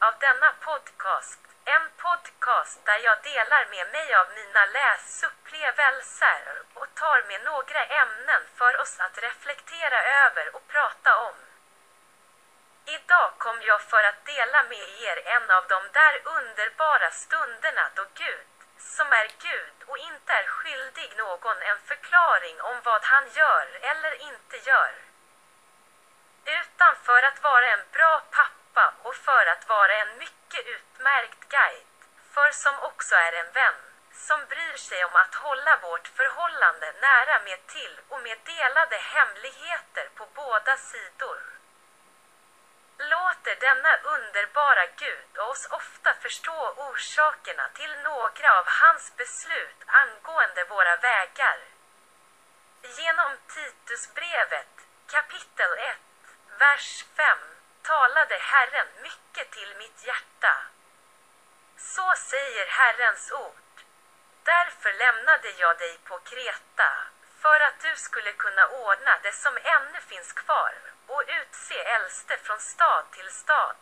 av denna podcast. En podcast där jag delar med mig av mina läsupplevelser och tar med några ämnen för oss att reflektera över och prata om. Idag kom jag för att dela med er en av de där underbara stunderna då Gud, som är Gud och inte är skyldig någon en förklaring om vad han gör eller inte gör. Utan för att vara en bra pappa och för att vara en mycket utmärkt guide, för som också är en vän, som bryr sig om att hålla vårt förhållande nära med till och med delade hemligheter på båda sidor. Låter denna underbara Gud oss ofta förstå orsakerna till några av hans beslut angående våra vägar. Genom Titusbrevet, kapitel 1, vers 5, talade Herren mycket till mitt hjärta. Så säger Herrens ord. Därför lämnade jag dig på Kreta, för att du skulle kunna ordna det som ännu finns kvar och utse äldste från stad till stad.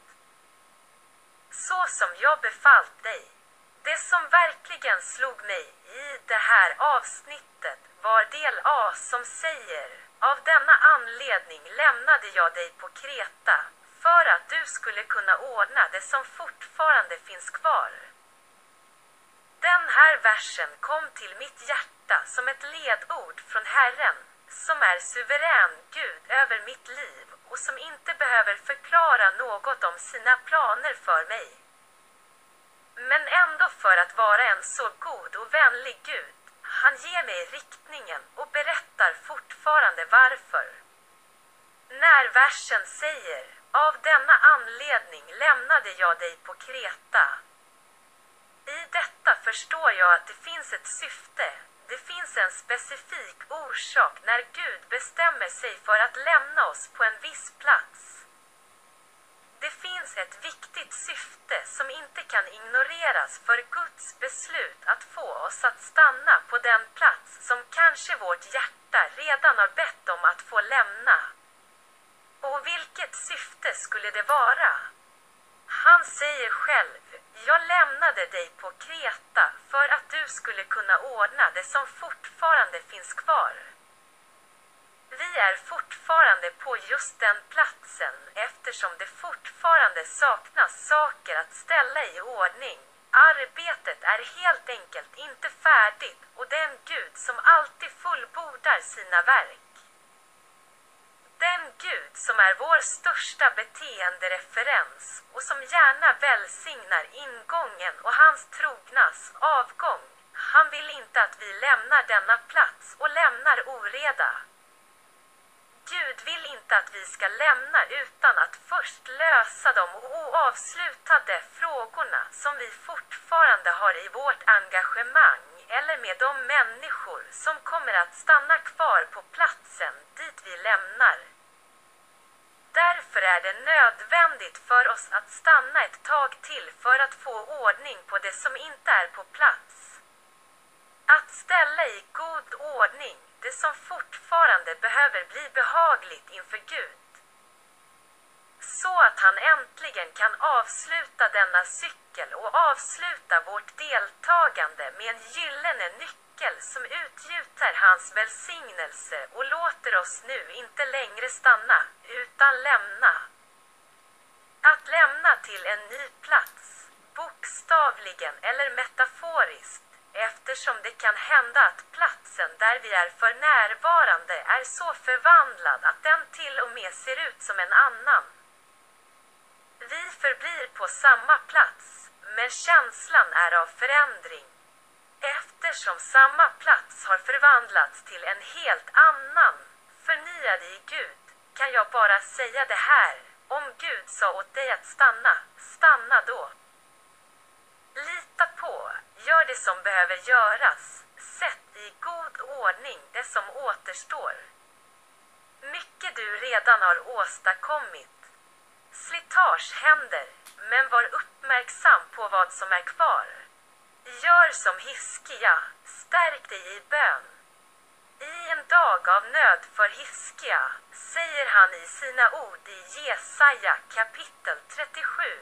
Så som jag befallt dig. Det som verkligen slog mig i det här avsnittet var del A som säger: av denna anledning lämnade jag dig på Kreta, för att du skulle kunna ordna det som fortfarande finns kvar. Den här versen kom till mitt hjärta som ett ledord från Herren, som är suverän Gud över mitt liv och som inte behöver förklara något om sina planer för mig. Men ändå för att vara en så god och vänlig Gud, han ger mig riktningen och berättar fortfarande varför. När versen säger: av denna anledning lämnade jag dig på Kreta. I detta förstår jag att det finns ett syfte. Det finns en specifik orsak när Gud bestämmer sig för att lämna oss på en viss plats. Det finns ett viktigt syfte som inte kan ignoreras för Guds beslut att få oss att stanna på den plats som kanske vårt hjärta redan har bett om att få lämna. Och vilket syfte skulle det vara? Han säger själv: jag lämnade dig på Kreta för att du skulle kunna ordna det som fortfarande finns kvar. Vi är fortfarande på just den platsen eftersom det fortfarande saknas saker att ställa i ordning. Arbetet är helt enkelt inte färdigt och den Gud som alltid fullbordar sina verk. Den Gud som är vår största beteendereferens och som gärna välsignar ingången och hans trognas avgång. Han vill inte att vi lämnar denna plats och lämnar oreda. Gud vill inte att vi ska lämna utan att först lösa de oavslutade frågorna som vi fortfarande har i vårt engagemang eller med de människor som kommer att stanna kvar på platsen dit vi lämnar. Därför är det nödvändigt för oss att stanna ett tag till för att få ordning på det som inte är på plats. Att ställa i god ordning det som fortfarande behöver bli behagligt inför Gud. Så att han äntligen kan avsluta denna cykel och avsluta vårt deltagande med en gyllene nyckel som utgjuter hans välsignelse och låter oss nu inte längre stanna, utan lämna. Att lämna till en ny plats, bokstavligen eller metaforiskt, eftersom det kan hända att platsen där vi är för närvarande är så förvandlad att den till och med ser ut som en annan. Vi förblir på samma plats, men känslan är av förändring. Eftersom samma plats har förvandlats till en helt annan, förnyad i Gud, kan jag bara säga det här: om Gud sa åt dig att stanna, stanna då. Lita på, gör det som behöver göras, sätt i god ordning det som återstår. Mycket du redan har åstadkommit. Slitage händer, men var uppmärksam på vad som är kvar. Gör som Hiskia, stärk dig i bön. I en dag av nöd för Hiskia, säger han i sina ord i Jesaja kapitel 37,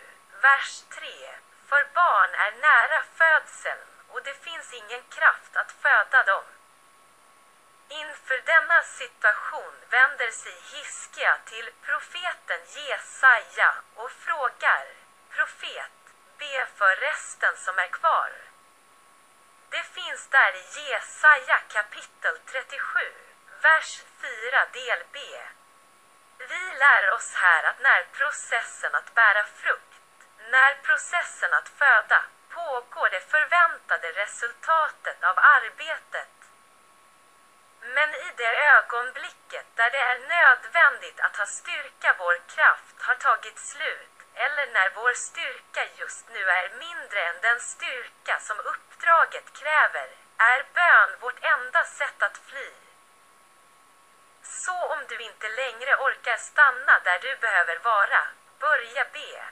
Vers 3. För barn är nära födseln, och det finns ingen kraft att föda dem. Inför denna situation vänder sig Hiskia till profeten Jesaja och frågar: Profet, be för resten som är kvar. Det finns där i Jesaja kapitel 37, vers 4 del B. Vi lär oss här att när processen att bära frukt, när processen att föda, pågår det förväntade resultatet av arbetet. Men i det ögonblicket där det är nödvändigt att ha styrka, vår kraft har tagit slut, eller när vår styrka just nu är mindre än den styrka som uppdraget kräver, är bön vårt enda sätt att fly. Så om du inte längre orkar stanna där du behöver vara, börja be.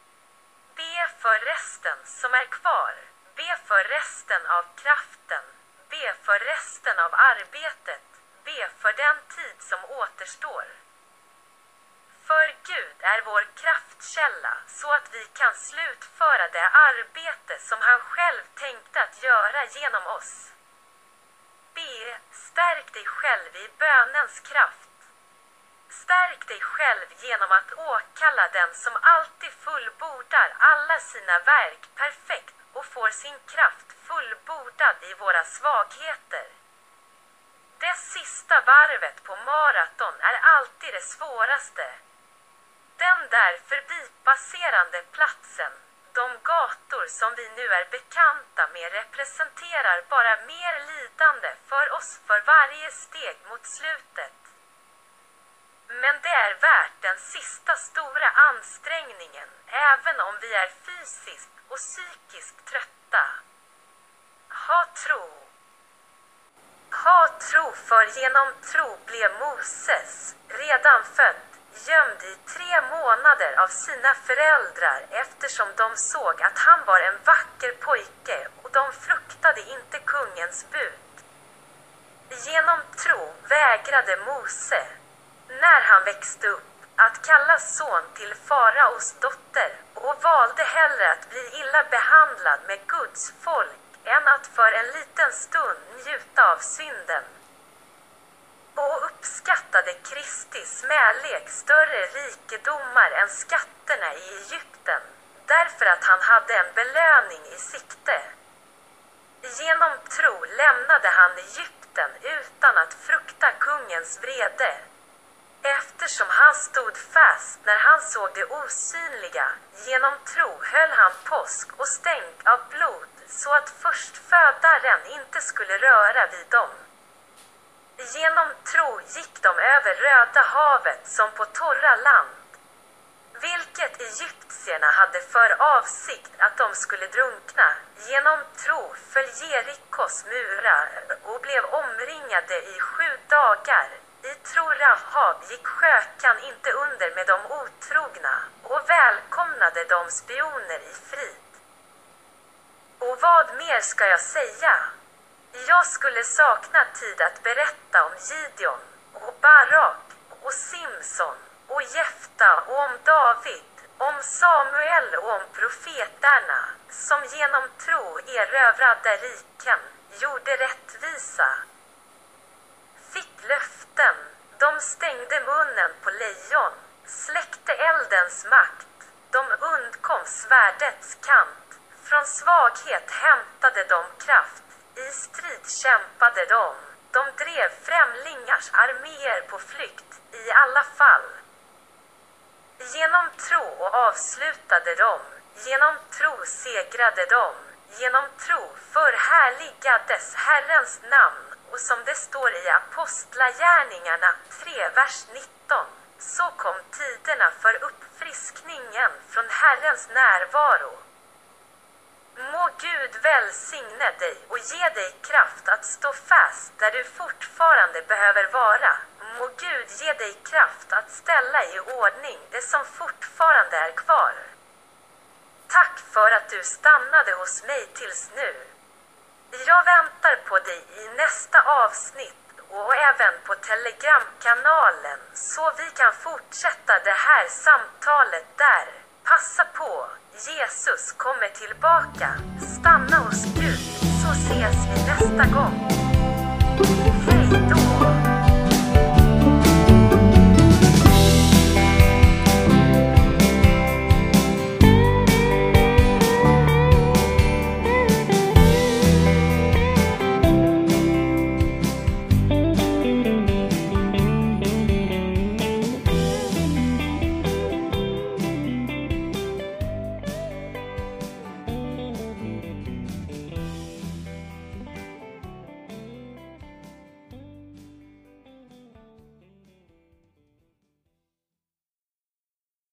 Be för resten som är kvar, be för resten av kraften, be för resten av arbetet, be för den tid som återstår. För Gud är vår kraftkälla så att vi kan slutföra det arbete som han själv tänkte att göra genom oss. Be, stärk dig själv i bönens kraft. Stärk dig själv genom att åkalla den som alltid fullbordar alla sina verk perfekt och får sin kraft fullbordad i våra svagheter. Det sista varvet på maraton är alltid det svåraste. Den där förbipasserande platsen, de gator som vi nu är bekanta med, representerar bara mer lidande för oss för varje steg mot slutet. Men det är värt den sista stora ansträngningen, även om vi är fysiskt och psykiskt trötta. Ha tro. Ha tro, för genom tro blev Moses, redan född, gömd i 3 månader av sina föräldrar eftersom de såg att han var en vacker pojke och de fruktade inte kungens bud. Genom tro vägrade Mose, när han växte upp, att kallas son till faraos dotter och valde hellre att bli illa behandlad med Guds folk än att för en liten stund njuta av synden. Och uppskattade Kristi smälek större rikedomar än skatterna i Egypten, därför att han hade en belöning i sikte. Genom tro lämnade han Egypten utan att frukta kungens vrede. Eftersom han stod fast när han såg det osynliga, genom tro höll han påsk och stänk av blod, så att förstfödaren inte skulle röra vid dem. Genom tro gick de över Röda havet som på torra land, vilket egyptierna hade för avsikt att de skulle drunkna. Genom tro föll Jerikos murar och blev omringade i 7 dagar. I tro Rahab gick skökan inte under med de otrogna och välkomnade de spioner i frid. Och vad mer ska jag säga? Jag skulle sakna tid att berätta om Gideon och Barak och Simson och Jefta och om David, om Samuel och om profeterna, som genom tro erövrade riken, gjorde rättvisa, fick löften, de stängde munnen på lejon, släckte eldens makt, de undkom svärdets kant, från svaghet hämtade de kraft, i strid kämpade de drev främlingars arméer på flykt, i alla fall. Genom tro avslutade de, genom tro segrade de, genom tro förhärligades Herrens namn, och som det står i Apostlagärningarna 3 vers 19, så kom tiderna för uppfriskningen från Herrens närvaro. Må Gud välsigne dig och ge dig kraft att stå fast där du fortfarande behöver vara. Må Gud ge dig kraft att ställa i ordning det som fortfarande är kvar. Tack för att du stannade hos mig tills nu. Jag väntar på dig i nästa avsnitt och även på Telegramkanalen, så vi kan fortsätta det här samtalet där. Passa på, Jesus kommer tillbaka. Stanna hos Gud, så ses vi nästa gång. Hej då!